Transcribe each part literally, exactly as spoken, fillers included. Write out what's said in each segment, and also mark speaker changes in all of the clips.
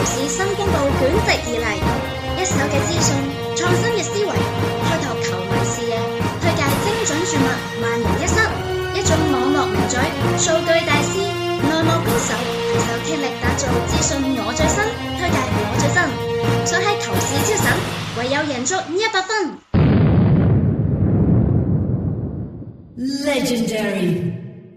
Speaker 1: 市新公佈捲席而嚟，一手嘅資訊，創新嘅思維，開拓球迷視野，推介精準注物，萬無一失。一種網絡名嘴，數據大師，內幕高手，攜手傾力打造資訊我最新，推介我最新，想喺球市超神，唯有贏足一百分。
Speaker 2: Legendary。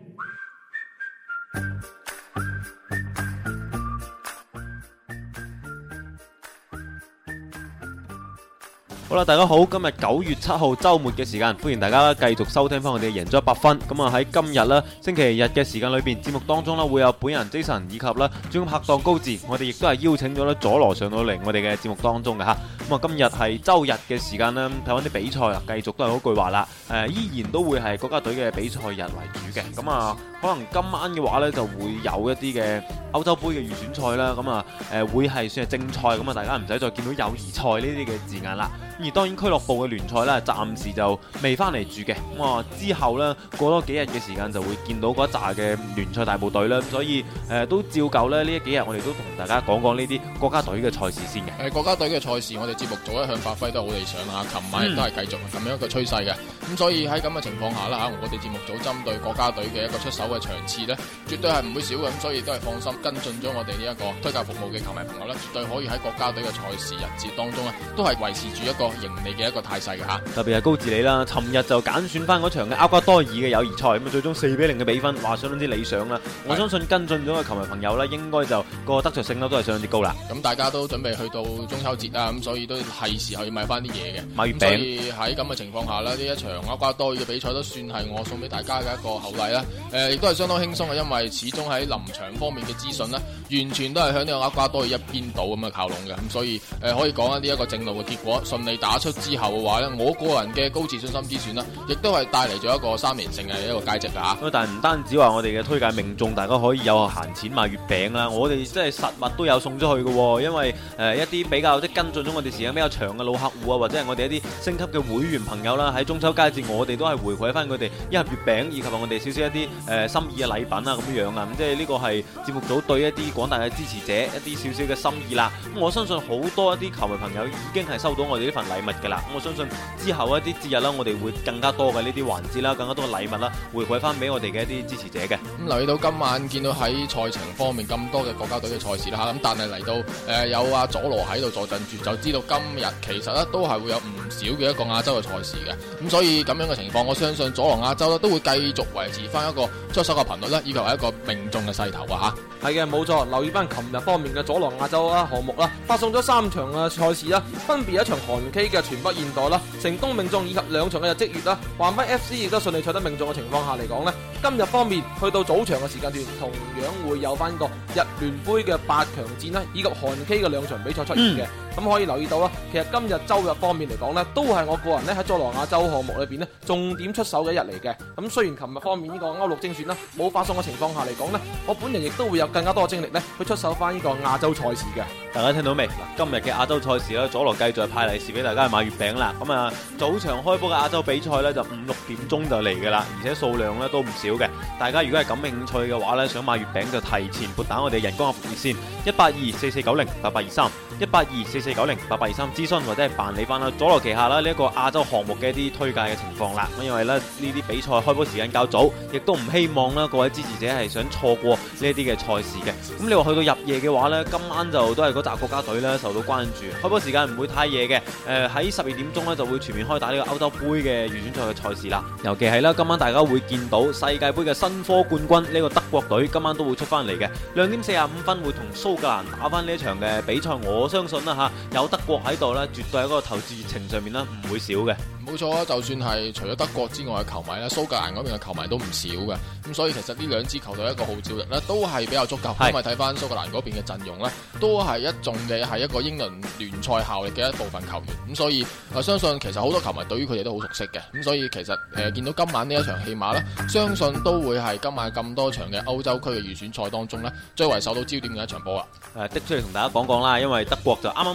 Speaker 3: 好啦，大家好，今日九月七號周末嘅時間，歡迎大家繼續收聽翻我哋贏足一百分。咁啊喺今日咧星期日嘅時間裏邊，節目當中咧會有本人 Jason 以及咧專拍檔高志，我哋亦都係邀請咗咧佐羅上到嚟我哋嘅節目當中嘅吓。咁啊今日係周日嘅時間啦，睇翻啲比賽啊，繼續都係嗰句話啦，誒、呃、依然都會係國家隊嘅比賽日為主嘅。咁啊可能今晚嘅話咧就會有一啲嘅歐洲杯嘅預選賽啦，咁啊誒會係算係正賽，咁啊大家唔使再見到友誼賽呢啲嘅字眼啦。而當然俱樂部嘅聯賽咧，暫時就未翻嚟住嘅。咁啊之後咧過多幾日嘅時間就會見到嗰一紮嘅聯賽大部隊啦。所以誒、呃、都照舊咧呢一幾日我哋都同大家講講呢啲國家隊嘅賽事先嘅。
Speaker 4: 誒國家隊嘅賽事，我哋節目組一向發揮都好理想嚇，琴晚亦都係繼續咁樣一個趨勢嘅。咁、嗯、所以喺咁嘅情況下啦嚇，我哋節目組針對國家隊嘅一個出手嘅場次咧，絕對係唔會少嘅。咁所以都係放心跟進咗我哋呢一個推介服務嘅球迷朋友咧，絕對可以喺國家隊嘅賽事日節當中咧，都係維持住一個盈利嘅一個態勢嘅嚇。特別係高治理啦，尋日就揀選翻嗰場嘅厄瓜多爾嘅友誼賽，咁啊最終四比零嘅比分，話相當之理想啦。我相信跟進咗嘅球迷朋友咧，應該就個得着性咧都係相當之高啦。 咁大家都準備去到中秋節啦，咁所以都係時候要買翻啲嘢嘅，
Speaker 3: 買月餅。
Speaker 4: 所以喺咁嘅情況下咧，呢一場厄瓜多爾嘅比賽都算係我送俾大家嘅一個厚禮啦。誒、呃，亦都係相當輕鬆嘅，因為始終喺臨場方面嘅資訊呢，完全都係向呢個厄瓜多爾一邊倒咁嘅靠攏嘅。咁所以誒、呃，可以講呢一個正路嘅結果順利打出之後嘅話呢，我個人嘅高自信心之選呢，亦都係帶嚟咗一個三連勝嘅一個佳績噶吓。
Speaker 3: 但係唔單止話我哋嘅推介命中，大家可以有閒錢買月餅啦，我哋即係實物都有送出去嘅。因為誒、呃、一啲比較即係跟進咗我哋時間比較長嘅老客戶啊，或者係我哋一啲升級嘅會員朋友啦，喺中秋佳節我哋都係回饋翻佢哋一盒月餅，以及我哋少少一啲誒、呃、心意嘅禮品啊咁樣啊。咁即係呢個係節目組對一啲廣大嘅支持者一啲少少嘅心意啦。咁我相信好多一啲球迷朋友已經係收到我哋呢份禮物㗎啦。咁我相信之後一啲節日啦，我哋會更加多嘅呢啲環節啦，更加多嘅禮物啦，回饋翻俾我哋嘅一啲支持者嘅。
Speaker 4: 咁留意到今晚見到喺賽程方面咁多嘅國家隊嘅賽事啦嚇，咁但係嚟到誒、呃、有阿佐羅喺度坐鎮住，就知道今日其實咧都係會有唔少嘅一個亞洲嘅賽事嘅。咁所以咁樣嘅情況，我相信佐羅亞洲咧都會繼續維持翻一個出手嘅頻率咧，以及係一個命中嘅勢頭啊嚇。
Speaker 5: 係嘅，冇錯。留意翻琴日方面嘅佐羅亞洲啦項目啦，發送咗三場嘅賽事啦，分別一場韓 K 嘅全北現代啦，成功命中，以及兩場嘅日職月啦，橫濱 F C 亦都順利取得命中嘅情況下嚟講呢，今日方面去到早場嘅時間段，同樣會有翻個日聯杯嘅八強戰啦，以及韓 K 嘅兩場比賽出現嘅。咁、嗯、可以留意到啦，其實今日周日方面嚟講呢，都係我個人咧喺佐羅亞洲項目裏邊呢重點出手嘅一日嚟嘅。咁雖然琴日方面呢個歐陸精選啦冇發送嘅情況下嚟講呢，我本人亦都會有更加多嘅精力呢去出手翻呢個亞洲賽事嘅。
Speaker 3: 大家聽到未？嗱，今日嘅亞洲賽事咧，佐羅繼續派利是俾大家去買月餅啦。咁啊，早場開波嘅亞洲比賽呢，就五六點鐘就嚟噶啦，而且數量呢都唔少嘅。大家如果係感興趣嘅話呢，想買月餅就提前撥打我哋人工客服熱線一八二四四九零八八二三一八二四四九零八八二三諮詢或者係辦理翻啦佐羅旗下啦呢一個亞洲項目嘅一啲推介嘅情況啦。咁因為咧呢啲比賽開波時間較早，亦都唔希望啦各位支持者係想錯過呢一啲嘅賽事嘅。咁你話去到入夜嘅話呢，今晚就都係嗰紮國家隊咧受到關注，開波時間唔會太夜嘅。誒喺十二點鐘咧就會全面開打呢個歐洲杯嘅預選賽嘅賽事啦。尤其係啦，今晚大家會見到世界盃嘅新科冠軍呢個德國隊今晚都會出翻嚟嘅，兩點四十五分會同蘇格蘭打翻呢一場嘅比賽。我相信啦嚇，有德國喺度咧，絕對喺嗰個投注熱情上面咧唔會少嘅。
Speaker 4: 冇錯啊，就算係除咗德國之外嘅球迷咧，蘇格蘭嗰邊嘅球迷都唔少嘅。咁所以其實呢兩支球隊一個號召力咧都係比較足夠，因為睇翻蘇格蘭嗰邊嘅陣容咧，都係一眾嘅係一個英倫聯賽效力嘅一部分球員。咁所以我相信其實好多球迷對於佢哋都好熟悉嘅。咁所以其實誒、呃、見到今晚呢一場戲碼咧，相信都會係今晚咁多場嘅歐洲區嘅預選賽當中咧，最為受到焦點嘅一場波啦。
Speaker 3: 誒，的出嚟同大家講講啦，因為德國就啱啱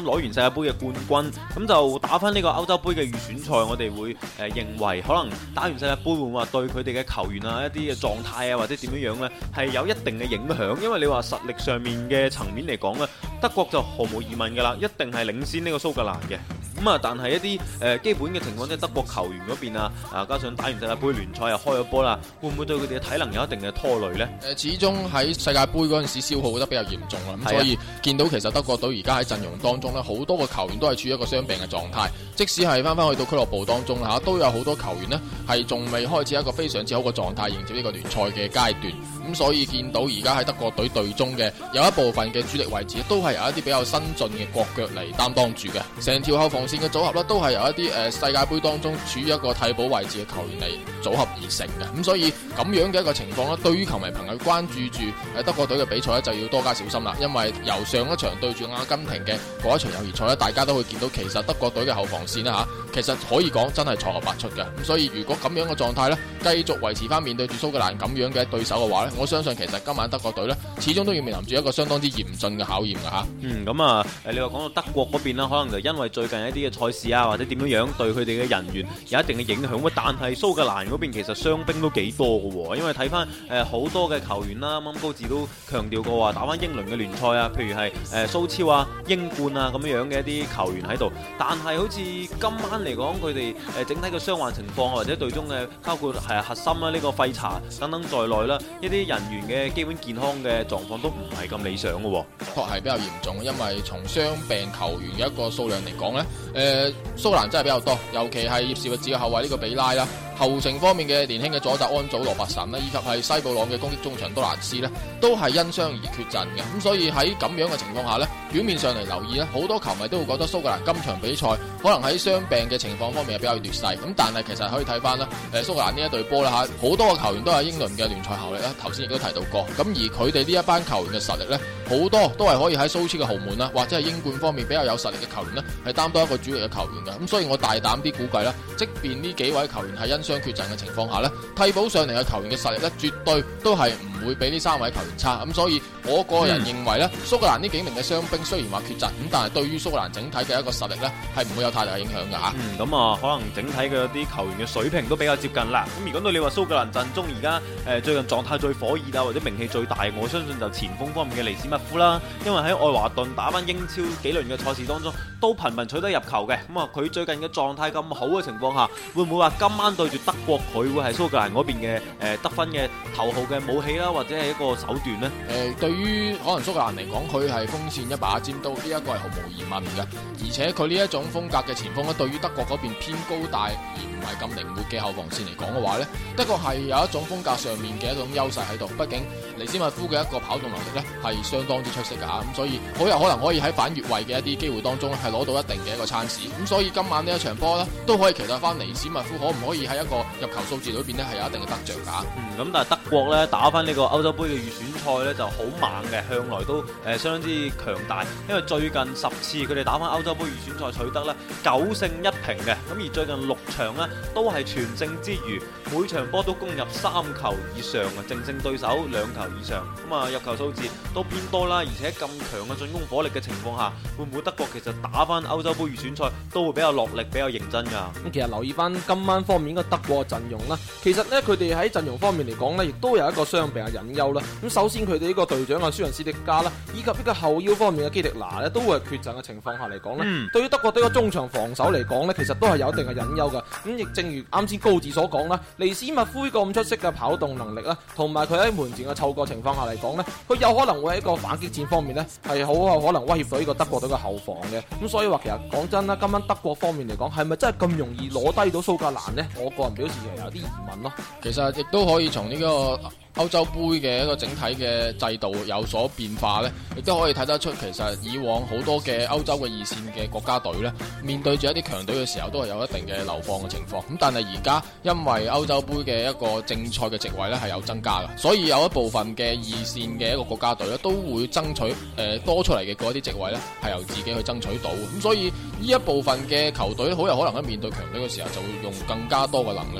Speaker 3: 啱攞完世界盃嘅冠軍，咁就打翻呢個歐洲盃嘅預選賽，我哋會誒、呃、認為可能打完世界盃會唔會話對佢哋嘅球員啊一啲嘅狀態啊或者點樣樣呢係有一定嘅影響，因為你話實力上面嘅層面嚟講呢，德國就毫無疑問噶啦，一定係領先呢個蘇格蘭嘅。咁啊，但係一啲誒、呃、基本嘅情況，即係德國球員嗰邊啊，啊加上打完世界盃聯賽又開咗波啦，會唔會對佢哋嘅體能有一定嘅拖累呢？
Speaker 4: 誒，始終喺世界盃嗰陣時消耗得比較嚴重啦，咁所以見到其實德國隊而家喺陣容當中呢，好多個球員都係處於一個傷病嘅狀態，即使係翻翻去到俱樂部當中啦嚇，都有好多球員呢係仲未開始一個非常之好嘅狀態迎接呢個聯賽嘅階段，咁所以見到而家喺德國隊隊中嘅有一部分嘅主力位置都係由一啲比較新進嘅國腳嚟擔當住嘅，成條後防線嘅組合咧都係由一啲誒、呃、世界盃當中處於一個替補位置嘅球員嚟組合而成嘅，咁所以咁樣嘅一個情況咧，對於球迷朋友關注住誒德國隊嘅比賽咧，就要多加小心啦，因為由上一場對住阿根廷嘅嗰一場友誼賽咧，大家都會見到其實德國隊嘅後防線咧嚇，其實可以講真係錯漏百出嘅，咁所以如果咁樣嘅狀態咧，繼續維持翻面對住蘇格蘭咁樣嘅對手嘅話咧，我相信其實今晚德國隊咧，始終都要面臨住一個相當之嚴峻嘅考驗㗎嚇。
Speaker 3: 嗯，咁啊，誒你話講到德國嗰邊啦，可能就因為最近一啲嘅賽事啊，或者點樣樣對佢哋嘅人員有一定嘅影響喎。但係蘇格蘭嗰邊其實傷兵都幾多嘅喎，因為睇翻誒好多嘅球員啦，啱啱高志都強調過話打翻英倫嘅聯賽啊，譬如係誒蘇超啊、英冠啊咁樣樣嘅一啲球員喺度。但係好似今晚嚟講，佢哋誒整體嘅傷患情況或者隊中嘅包括係核心啦、呢個廢柴等等在內啦，一啲人員嘅基本健康嘅狀況都唔係咁理想嘅喎。
Speaker 4: 確係比較嚴重，因為從傷病球員嘅一個數量嚟講呢，誒、呃、蘇格蘭真係比較多，尤其係葉士域治嘅後衛呢個比拉啦，後程方面嘅年輕嘅左閘安祖羅伯神啦，以及係西布朗嘅攻擊中場多蘭斯呢，都係因傷而缺陣嘅。咁所以喺咁樣嘅情況下呢，表面上嚟留意呢，好多球迷都會覺得蘇格蘭今場比賽可能喺傷病嘅情況方面係比較劣勢。咁但係其實可以睇翻啦，誒蘇格蘭呢一隊波啦嚇，好多個球員都係英倫嘅聯賽效力啦。頭先亦都提到過，咁而佢哋呢一班球員嘅實力呢，好多都係可以喺蘇超嘅豪門啦，或者係英冠方面比較有實力嘅球員呢，係擔當一個主力嘅球員嘅。咁所以我大膽啲估計啦，即便呢幾位球員係因傷缺陣嘅情況下呢，替補上嚟嘅球員嘅實力呢，絕對都係唔會比呢三位球員差。咁所以我個人認為呢，嗯、蘇格蘭呢幾名嘅傷兵雖然話缺陣，咁但係對於蘇格蘭整體嘅一個實力呢，係唔會有太大嘅影響㗎嚇。
Speaker 3: 嗯，咁啊，可能整體嘅啲球員嘅水平都比較接近啦。咁如果到你話蘇格蘭陣中而家誒最近狀態最火熱啊，或者名氣最大，我相信就前鋒方面嘅尼斯密夫啦。因為喺愛華頓打翻英超幾輪嘅賽事當中，都頻頻取得入球嘅。咁啊，佢最近嘅狀態咁好嘅情況下，會唔會話今晚對住德國，佢會係蘇格蘭嗰邊嘅誒得分嘅頭號嘅武器啦，或者係一個手段呢？
Speaker 4: 誒、呃，對於可能蘇格蘭嚟講，佢係鋒線一把尖刀，呢、這、一個係毫無疑問嘅。而且佢呢一種風格嘅前鋒咧，對於德國嗰邊偏高大而唔係咁靈活嘅後防線嚟講嘅話呢，德國係有一種風格上面嘅一種優勢喺度。畢竟尼斯密夫嘅一個跑動能力呢係相當之出色㗎嚇，咁所以好有可能可以喺反越位嘅一啲機會當中係攞到一定嘅一個찬스。咁所以今晚呢一場波呢，都可以期待翻尼斯密夫可唔可以喺一個入球數字裏邊呢係有一定嘅得着㗎。
Speaker 3: 嗯，咁但係德國呢打翻呢個歐洲盃嘅預選賽呢就好猛嘅，向來都誒、呃、相當之強大。因為最近十次佢哋打翻歐洲盃預選賽取得呢九勝一平嘅，咁而最近六場呢都係全勝之餘，每場波都攻入三球以上啊，淨勝對手兩球以上。咁啊入球數字都偏多啦，而且咁強嘅進攻火力嘅情況下，會唔會德國其實打翻歐洲盃預選賽都會比較落力、比較認真㗎？
Speaker 5: 咁其實留意翻今晚方面嘅德國陣容啦，其實呢，佢哋喺陣容方面嚟講呢，亦都有一個傷病嘅隱憂啦。咁首先佢哋呢個隊長啊舒仁斯迪加啦，以及呢個後腰方面嘅基迪拿呢，都會係缺陣嘅情況下嚟講呢，嗯、對於德國隊嘅中場防守嚟講呢，其實都係有一定嘅隱憂㗎。咁亦正如啱先高志所講啦，尼斯密夫呢個咁出色嘅跑動能力啦，同埋佢喺門前嘅嗅覺情況下嚟講呢，佢有可能會喺一個反擊戰方面呢，係好有可能威脅到呢個德國隊嘅後防嘅。咁所以話其實講真啦，今晚德國方面嚟講，係咪真係咁容易攞低到蘇格蘭呢？我個人表示係有啲疑問咯。
Speaker 4: 其實亦都可以從呢個歐洲杯嘅一個整體嘅制度有所變化呢，亦都可以睇得出，其實以往好多嘅歐洲嘅二線嘅國家隊呢，面對住一啲強隊嘅時候，都係有一定嘅流放嘅情況。咁但係而家因為歐洲杯嘅一個正賽嘅席位呢係有增加嘅，所以有一部分嘅二線嘅一個國家隊呢，都會爭取誒、呃、多出嚟嘅嗰啲席位呢，係由自己去爭取到。咁所以呢一部分嘅球隊好有可能喺面對強隊嘅時候，就會用更加多嘅能力呢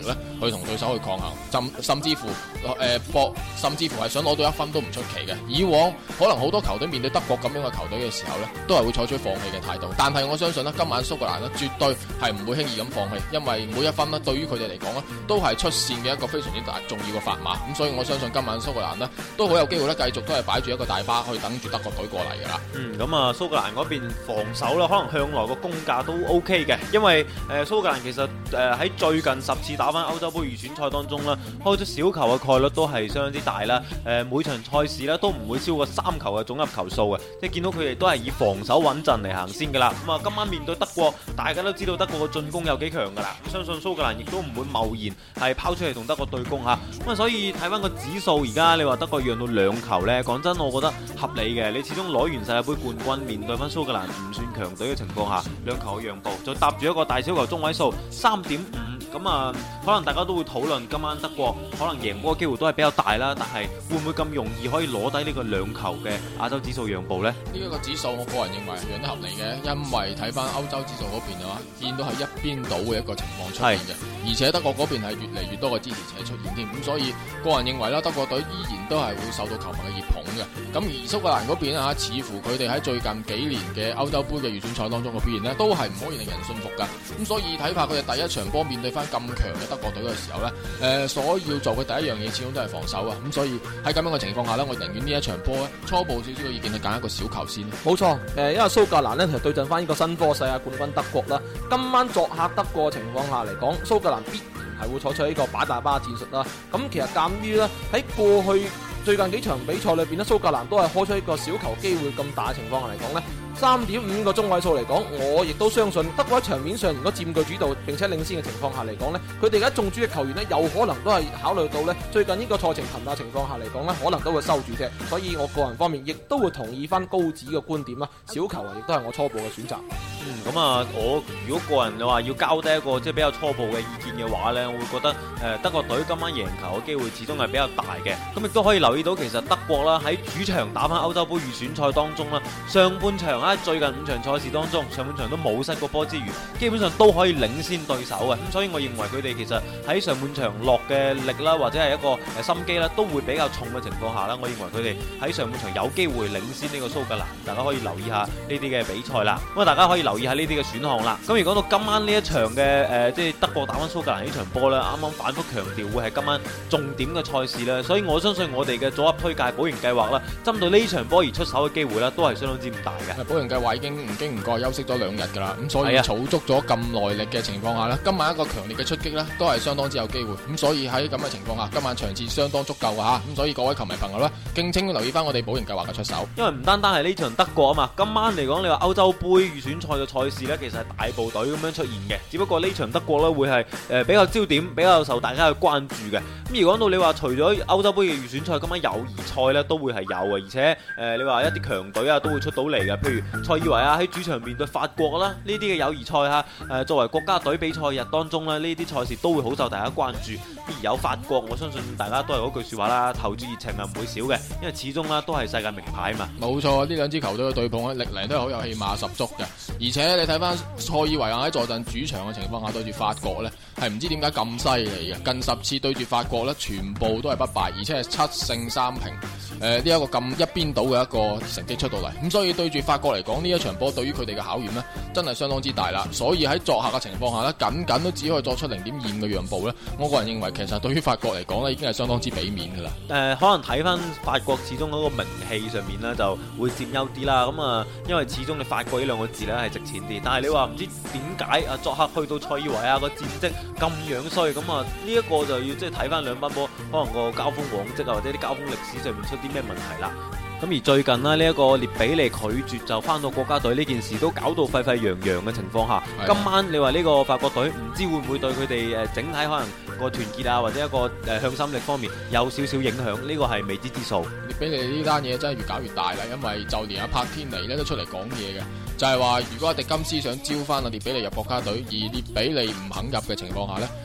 Speaker 4: 去同對手去抗衡，甚甚至乎誒、呃、搏，甚至乎係想攞到一分都唔出奇嘅。以往可能好多球隊面對德國咁樣嘅球隊嘅時候呢，都係會採取放棄嘅態度。但係我相信呢，今晚蘇格蘭呢絕對係唔會輕易咁放棄，因為每一分呢對於佢哋嚟講呢都係出線嘅一個非常之大重要嘅砝碼。咁所以我相信今晚蘇格蘭呢都好有機會呢繼續都係擺住一個大巴去等住德國隊過嚟㗎啦。
Speaker 3: 嗯，咁啊蘇格蘭嗰邊防守啦，可能向來個攻價都 OK 嘅，因為誒、呃、蘇格蘭其實誒喺、呃、最近十次打返歐洲杯預選賽當中啦，開出小球嘅概率都係相當之大啦。誒、呃、每場賽事咧都唔會超過三球嘅總入球數嘅，即係見到佢哋都係以防守穩陣嚟行先㗎啦。咁啊今晚面對德國，大家都知道德國嘅進攻有幾強㗎啦，相信蘇格蘭亦都唔會貿然係拋出嚟同德國對攻嚇。咁啊所以睇翻個指數，而家你話德國讓到兩球呢，講真我覺得合理嘅。你始終攞完世界盃冠軍，面對翻蘇格蘭唔算強隊嘅情況下，兩球嘅讓步，就搭住一個大小球中位數三點五，咁啊可能大家都會討論今晚德國可能贏波嘅機會都係比較大啦，但係會唔會咁容易可以攞低呢個兩球嘅亞洲指數讓步呢？
Speaker 4: 呢一個指數我個人認為係讓得合理嘅，因為睇翻歐洲指數嗰邊嘅話，見到係一邊倒嘅一個情況出現嘅，而且德國嗰邊係越嚟越多嘅支持者出現添，咁所以個人認為啦，德國隊依然都係會受到球迷嘅熱捧嘅。咁而蘇格蘭嗰邊啊，似乎佢哋喺最近幾年嘅歐洲杯嘅預選賽當中嘅表現呢，都係唔可以令人信服噶。咁所以睇怕佢哋第一場波面對翻咁強嘅德國隊嘅時候呢，誒、呃，所要做嘅第一樣嘢始終都係防守啊。咁所以喺咁樣嘅情況下呢，我寧願呢一場波咧，初步少少嘅意見係揀一個小球先。
Speaker 5: 冇錯，誒，因為蘇格蘭呢，其實對陣翻呢個新科世界冠軍德國啦，今晚作客德國嘅情況下嚟講，蘇格蘭必然係會採取呢個擺大巴戰術啦。咁其實鑑於呢，喺過去最近幾場比賽裏邊呢，蘇格蘭都係開出一個小球機會咁大嘅情況下嚟講呢，三點五個中位數嚟講，我亦都相信德國喺場面上如果佔據主導並且領先嘅情況下嚟講呢，佢哋而家中主嘅球員呢，有可能都係考慮到呢最近呢個賽程頻發情況下嚟講呢，可能都會收住啫。所以我個人方面亦都會同意翻高子嘅觀點啦，小球啊亦都係我初步嘅選擇。
Speaker 3: 嗯，咁啊，我如果個人嘅話要交低一個即係比較初步嘅意見嘅話呢，我會覺得誒、呃、德國隊今晚贏球嘅機會始終係比較大嘅。咁亦都可以留意到，其實德國啦喺主場打翻歐洲杯預選賽當中啦，上半場啊最近五場賽事當中，上半場都冇失過波之餘，基本上都可以領先對手嘅。咁所以我認為佢哋其實喺上半場落嘅力啦，或者係一個誒心機啦，都會比較重嘅情況下啦，我認為佢哋喺上半場有機會領先呢個蘇格蘭。大家可以留意下呢啲嘅比賽啦。咁啊，大家可以留意下呢啲嘅選項啦。咁而講到今晚呢一場嘅誒、呃，即係德國打翻蘇格蘭呢場波咧，啱啱反覆強調會係今晚重點嘅賽事咧，所以我相信我哋嘅組合推介保贏計劃啦，針對呢場波而出手嘅機會咧，都係相當之唔大嘅。
Speaker 4: 保贏計劃已經唔經唔覺休息咗兩日噶啦，咁所以儲足咗咁耐力嘅情況下咧，今晚一個強烈嘅出擊咧，都係相當之有機會。咁所以喺咁嘅情況下，今晚場次相當足夠啊吓，咁所以各位球迷朋友咧，敬請留意翻我哋保贏計劃嘅出手。
Speaker 3: 因為唔單單係呢場德國啊嘛，今晚嚟講你話歐洲杯預選賽嘅賽事咧，其實係大部隊咁樣出現嘅，只不過呢場德國咧會係誒比較焦點，比較受大家去關注嘅。咁而講到你話除咗歐洲杯嘅預選賽，今晚友誼賽咧都會係有嘅，而且誒、呃、你話一啲強隊啊都會出到嚟嘅，譬如塞爾維亞喺主場面對法國啦，呢啲嘅友誼賽嚇誒作為國家隊比賽日當中咧，呢啲賽事都會好受大家關注。而有法國，我相信大家都係嗰句説話啦，投注熱情係唔會少嘅，因為始終啦都係世界名牌嘛。冇
Speaker 4: 錯，呢兩支球隊嘅對碰咧，歷嚟都係好有氣馬十足嘅。而且你睇翻塞爾維亞喺坐鎮主場嘅情況下對住法國咧，係唔知點解咁犀利嘅，近十次對住法國咧，全部都係不敗，而且係七勝三平。誒呢一個咁一邊倒嘅一個成績出到嚟，咁所以對住法國嚟講，呢一場波對於佢哋嘅考驗呢，真係相當之大啦。所以喺作客嘅情況下呢，僅僅都只可以作出零點二五嘅讓步呢。我個人認為其實對於法國嚟講呢，已經係相當之俾面㗎啦。誒、
Speaker 3: 呃，可能睇翻法國始終嗰個名氣上面呢，就會佔優啲啦。咁啊，因為始終你法國呢兩個字呢係值錢啲，但係你話唔知點解啊，作客去到塞爾維亞個戰績咁樣衰，咁啊呢一個就要即係睇翻兩班波可能個交鋒往績啊，或者啲交鋒歷史上面出啲咩問題啦。咁而最近呢，呢、這、一個列比尼拒絕就翻到國家隊呢件事都搞到沸沸揚揚嘅情況下，今晚你話呢個法國隊唔知會唔會對佢哋誒整體可能個團結啊，或者一個誒向心力方面有少少影響？呢、這個係未知之數。
Speaker 4: 列比尼呢單嘢真係越搞越大啦，因為就連阿柏天尼咧都出嚟講嘢嘅，就係、是、話如果阿迪金斯想招翻阿列比尼入國家隊，而列比尼唔肯入嘅情況下呢，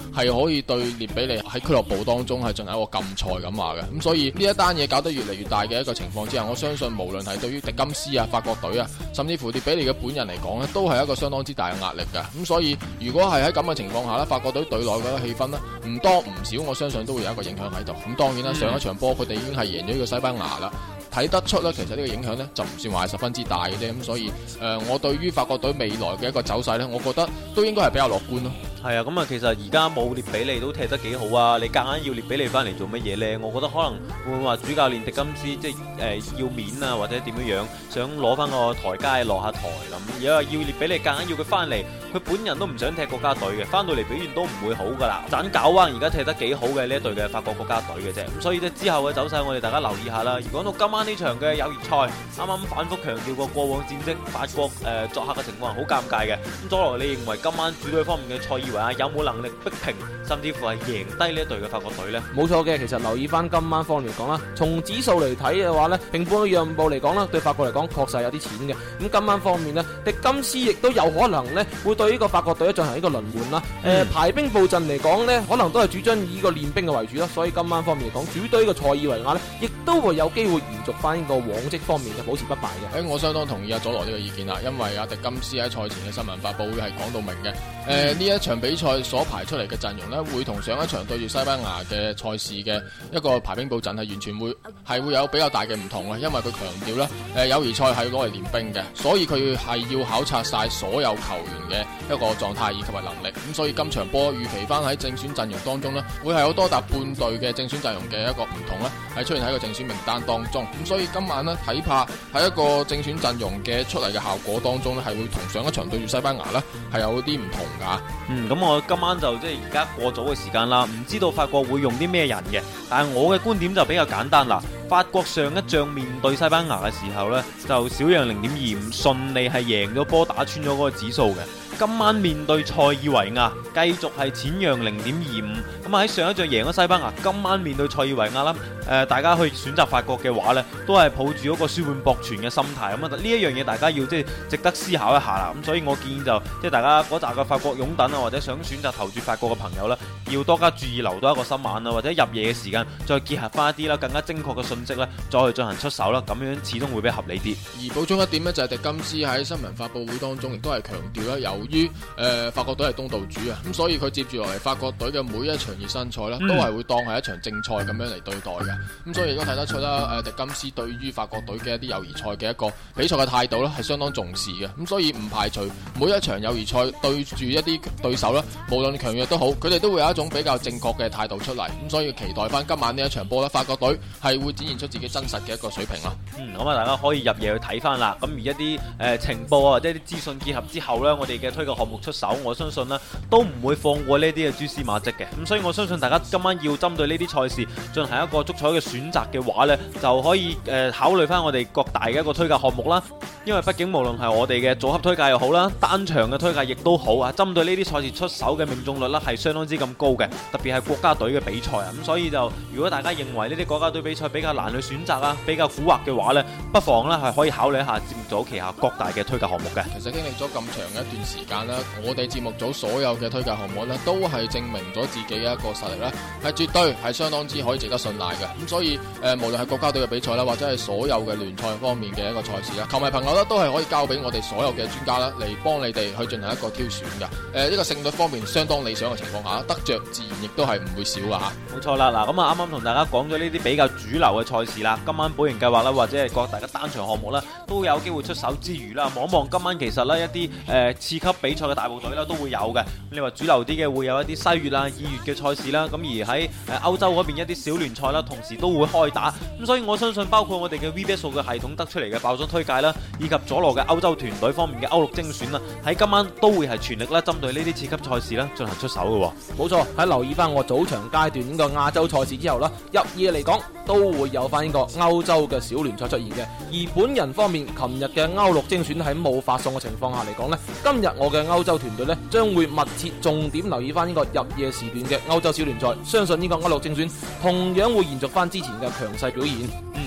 Speaker 4: 係可以對列比尼喺俱樂部當中係進行一個禁賽咁話嘅。咁所以呢一單嘢搞得越嚟越大嘅一個情況之下，我相信無論係對於迪金斯啊、法國隊啊，甚至乎列比尼嘅本人嚟講呢，都係一個相當之大嘅壓力嘅。咁所以如果係喺咁嘅情況下呢，法國隊隊內嘅氣氛呢，唔多唔少，我相信都會有一個影響喺度。咁當然啦，上一場波佢哋已經係贏咗呢個西班牙啦。睇得出咧，其實呢個影響呢就唔算話係十分之大嘅啫。咁所以誒、呃，我對於法國隊未來嘅一個走勢呢，我覺得都應該係比較樂觀咯。
Speaker 3: 係啊，咁啊，其實而家冇列比尼都踢得幾好啊！你夾硬要列比尼翻嚟做乜嘢呢？我覺得可能會唔會話主教練迪金斯即係誒、呃、要面啊，或者點樣樣想攞翻個台階落下台咁。如果要列比尼夾硬要佢翻嚟，佢本人都唔想踢國家隊嘅，翻到嚟表現都唔會好噶啦。盞搞彎而家踢得幾好嘅呢一隊嘅法國國家隊嘅啫。咁所以咧之後嘅走勢，我哋大家留意下啦。而講到今晚呢場嘅友誼賽，啱啱反覆強調過過往戰績，法國誒、呃、作客嘅情況係好尷尬嘅。咁佐羅，你認為今晚主隊方面嘅塞爾維亞有冇能力逼平，甚至乎係贏低呢一隊嘅法國隊呢？
Speaker 5: 冇錯嘅，其實留意翻今晚方面嚟講啦，從指數嚟睇嘅話呢，平半嘅讓步嚟講啦，對法國嚟講確實有啲淺嘅。咁今晚方面呢，迪金斯亦都有可能呢會對呢個法國隊進行呢個輪換啦。誒、嗯呃、排兵布陣嚟講呢，可能都係主張以呢個練兵嘅為主啦。所以今晚方面嚟講，主隊嘅塞爾維亞呢，亦都會有機會延續翻呢個往績方面嘅保持不敗嘅。
Speaker 4: 誒，我相當同意阿佐羅呢個意見啦，因為阿迪金斯喺賽前嘅新聞發佈會係講到明嘅。誒、呃、呢一場比賽所排出嚟嘅陣容呢，會同上一場對住西班牙嘅賽事嘅一個排兵布陣係完全會係會有比較大嘅唔同嘅，因為佢強調咧，誒友誼賽係攞嚟練兵嘅，所以佢係要考察晒所有球員嘅一個狀態以及係能力。咁所以今場波預期翻喺正選陣容當中呢，會係有多達半隊嘅正選陣容嘅一個唔同咧，係出現喺個正選名單當中。咁所以今晚呢，睇怕喺一個正選陣容嘅出嚟嘅效果當中呢，係會同上一場對住西班牙呢係有啲唔同噶。
Speaker 3: 嗯，咁我今晚就即係而家過早嘅時間啦，唔知道法國會用啲咩人嘅，但係我嘅觀點就比較簡單啦。法國上一仗面對西班牙嘅時候呢，就小讓零點二五，順利係贏咗波，打穿咗嗰個指數嘅。今晚面對塞爾維亞，繼續係淺讓零點二五。咁啊喺上一仗贏咗西班牙，今晚面對塞爾維亞啦，誒、呃、大家去選擇法國嘅話呢，都係抱住嗰個輸半博全嘅心態。咁啊呢一樣嘢大家要即係值得思考一下啦。咁所以我建議就即係大家嗰扎嘅法國擁躉啊，或者想選擇投注法國嘅朋友呢，要多加注意，留多一個心眼啊，或者入夜嘅時間再結合翻一啲啦更加精確嘅信息呢，再去進行出手啦。咁樣始終會比較合理啲。
Speaker 4: 而補充一點呢，就係迪金斯喺新聞發佈會當中亦都係強調啦，由於誒、呃、法國隊係東道主啊，咁所以佢接住落嚟法國隊嘅每一場熱身賽呢，都係會當係一場正賽咁樣嚟對待嘅。咁所以亦都睇得出啦，誒迪金斯對於法國隊嘅一啲友誼賽嘅一個比賽嘅態度呢，係相當重視嘅。咁所以唔排除每一場友誼賽對住一啲對手呢，無論強弱都好，佢哋都會有一種比較正確嘅態度出嚟。咁所以期待翻今晚呢一場波呢，法國隊係會展現出自己真實嘅一個水平啦。
Speaker 3: 嗯，咁啊，大家可以入夜去睇翻啦。咁而一啲誒、呃、情報啊，或者啲資訊結合之後呢，我哋嘅推介項目出手，我相信呢都唔會放過呢啲嘅蛛絲馬跡嘅。咁所以我相信大家今晚要針對呢啲賽事進行一個足彩嘅選擇嘅話呢，就可以誒、呃、考慮翻我哋各大嘅一個推介項目啦。因為畢竟無論係我哋嘅組合推介又好啦，單場嘅推介亦都好啊，針對呢啲賽事出手嘅命中率呢係相當之咁高嘅，特別係國家隊嘅比賽啊。咁所以就如果大家認為呢啲國家隊比賽比較難去選擇啊，比較蠱惑嘅話呢，不妨呢係可以考慮一下節目組旗下各大嘅推介項目嘅。
Speaker 4: 其實經歷咗咁長嘅一段時間啦，我哋節目組所有嘅推介項目呢，都係證明咗自己嘅一個實力啦，係絕對係相當之可以值得信賴嘅。咁所以誒、呃，無論係國家隊嘅比賽啦，或者係所有嘅聯賽方面嘅一個賽事啦，球迷朋友呢都係可以交俾我哋所有嘅專家啦，嚟幫你哋去進行一個挑選嘅。誒、呃，呢、這個勝率方面相當理想嘅情況下，得着自然亦都係唔會少噶吓。
Speaker 3: 冇錯啦，嗱咁啊，啱啱同大家講咗呢啲比較主流嘅賽事啦，今晚保贏計劃啦，或者係各大嘅單場項目啦，都有機會出手之餘啦，望一望今晚其實呢一啲誒、呃、次級比賽嘅大部隊啦都會有嘅。你話主流啲嘅會有一啲西乙啦、二乙嘅賽事啦，咁而喺誒歐洲嗰邊一啲小聯賽啦，同時都會開打。咁所以我相信包括我哋嘅 V B S 數據系統得出嚟嘅爆莊推介啦，以及佐羅嘅歐洲團隊方面嘅歐陸精選啦，喺今晚都會係全力啦針對呢啲次級賽事啦進行出手嘅。冇
Speaker 5: 錯，喺留意翻我早場階段呢個亞洲賽事之後啦，入夜嚟講都會有翻呢個歐洲嘅小聯賽出現嘅。而本人方面，琴日嘅歐陸精選喺冇發送嘅情況下嚟講呢，今日我嘅歐洲團隊呢將會密切重點留意翻呢個入夜時段嘅歐洲小聯賽，相信呢個歐陸精選同樣會延續翻之前嘅強勢表現。
Speaker 3: 嗯，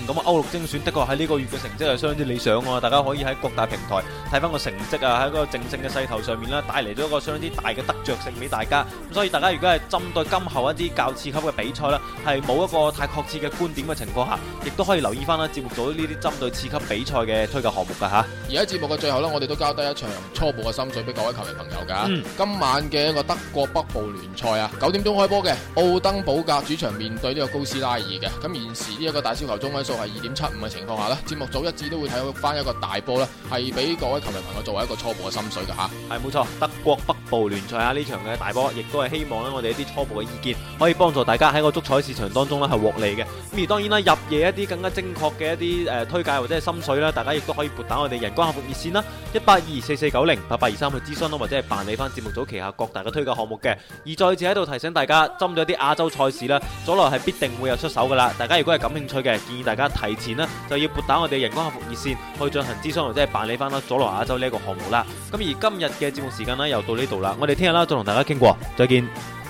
Speaker 3: 咁啊歐陸精選的確喺呢個月嘅成績係相當之理想喎，大家可以喺各大平台睇翻個成績啊，喺個正勝嘅勢頭上面啦，帶嚟咗一個相當之大嘅得着性俾大家。咁所以大家如果係針對今後一啲較次級嘅比賽啦，係冇一個太確切嘅觀點嘅情況下，亦都可以留意翻啦節目組呢啲針對次級比賽嘅推介項目噶吓。
Speaker 4: 而喺節目嘅最後呢，我哋都交低一場初步嘅心水俾各位球迷朋友噶。
Speaker 3: 嗯、
Speaker 4: 今晚嘅一個德國北部聯賽啊，九點鐘開波嘅奧登堡格主場面對呢個高斯拉爾嘅。咁現時呢一個大小球中位數係二點七五嘅情況下呢，節目組一致都會睇翻一個大波啦，係俾各位球迷朋友作為一個初步嘅心水噶吓。
Speaker 3: 係冇錯，德國北部聯賽啊呢場嘅大波，亦都係希望咧我哋一啲初步嘅意見可以幫助大家喺個足彩市場當中咧係獲利嘅。咁而當然啦，入夜一啲更加精確嘅一啲誒、呃、推介或者係心水啦，大家亦都可以撥打我哋人工客服熱線啦，一八二四四九零八八二三去諮詢啦，或者係辦理翻節目組旗下各大嘅推介項目嘅。而再次喺度提醒大家，針對一啲亞洲賽事啦，佐羅係必定會有出手噶啦。大家如果係感興趣嘅，建議大家提前啦就要撥打我哋人工客服熱線去進行諮詢或者係辦理翻啦佐羅亞洲呢一個項目啦。咁而今日嘅節目時間呢，又到呢度啦，我哋聽日啦再同大家傾過，再見。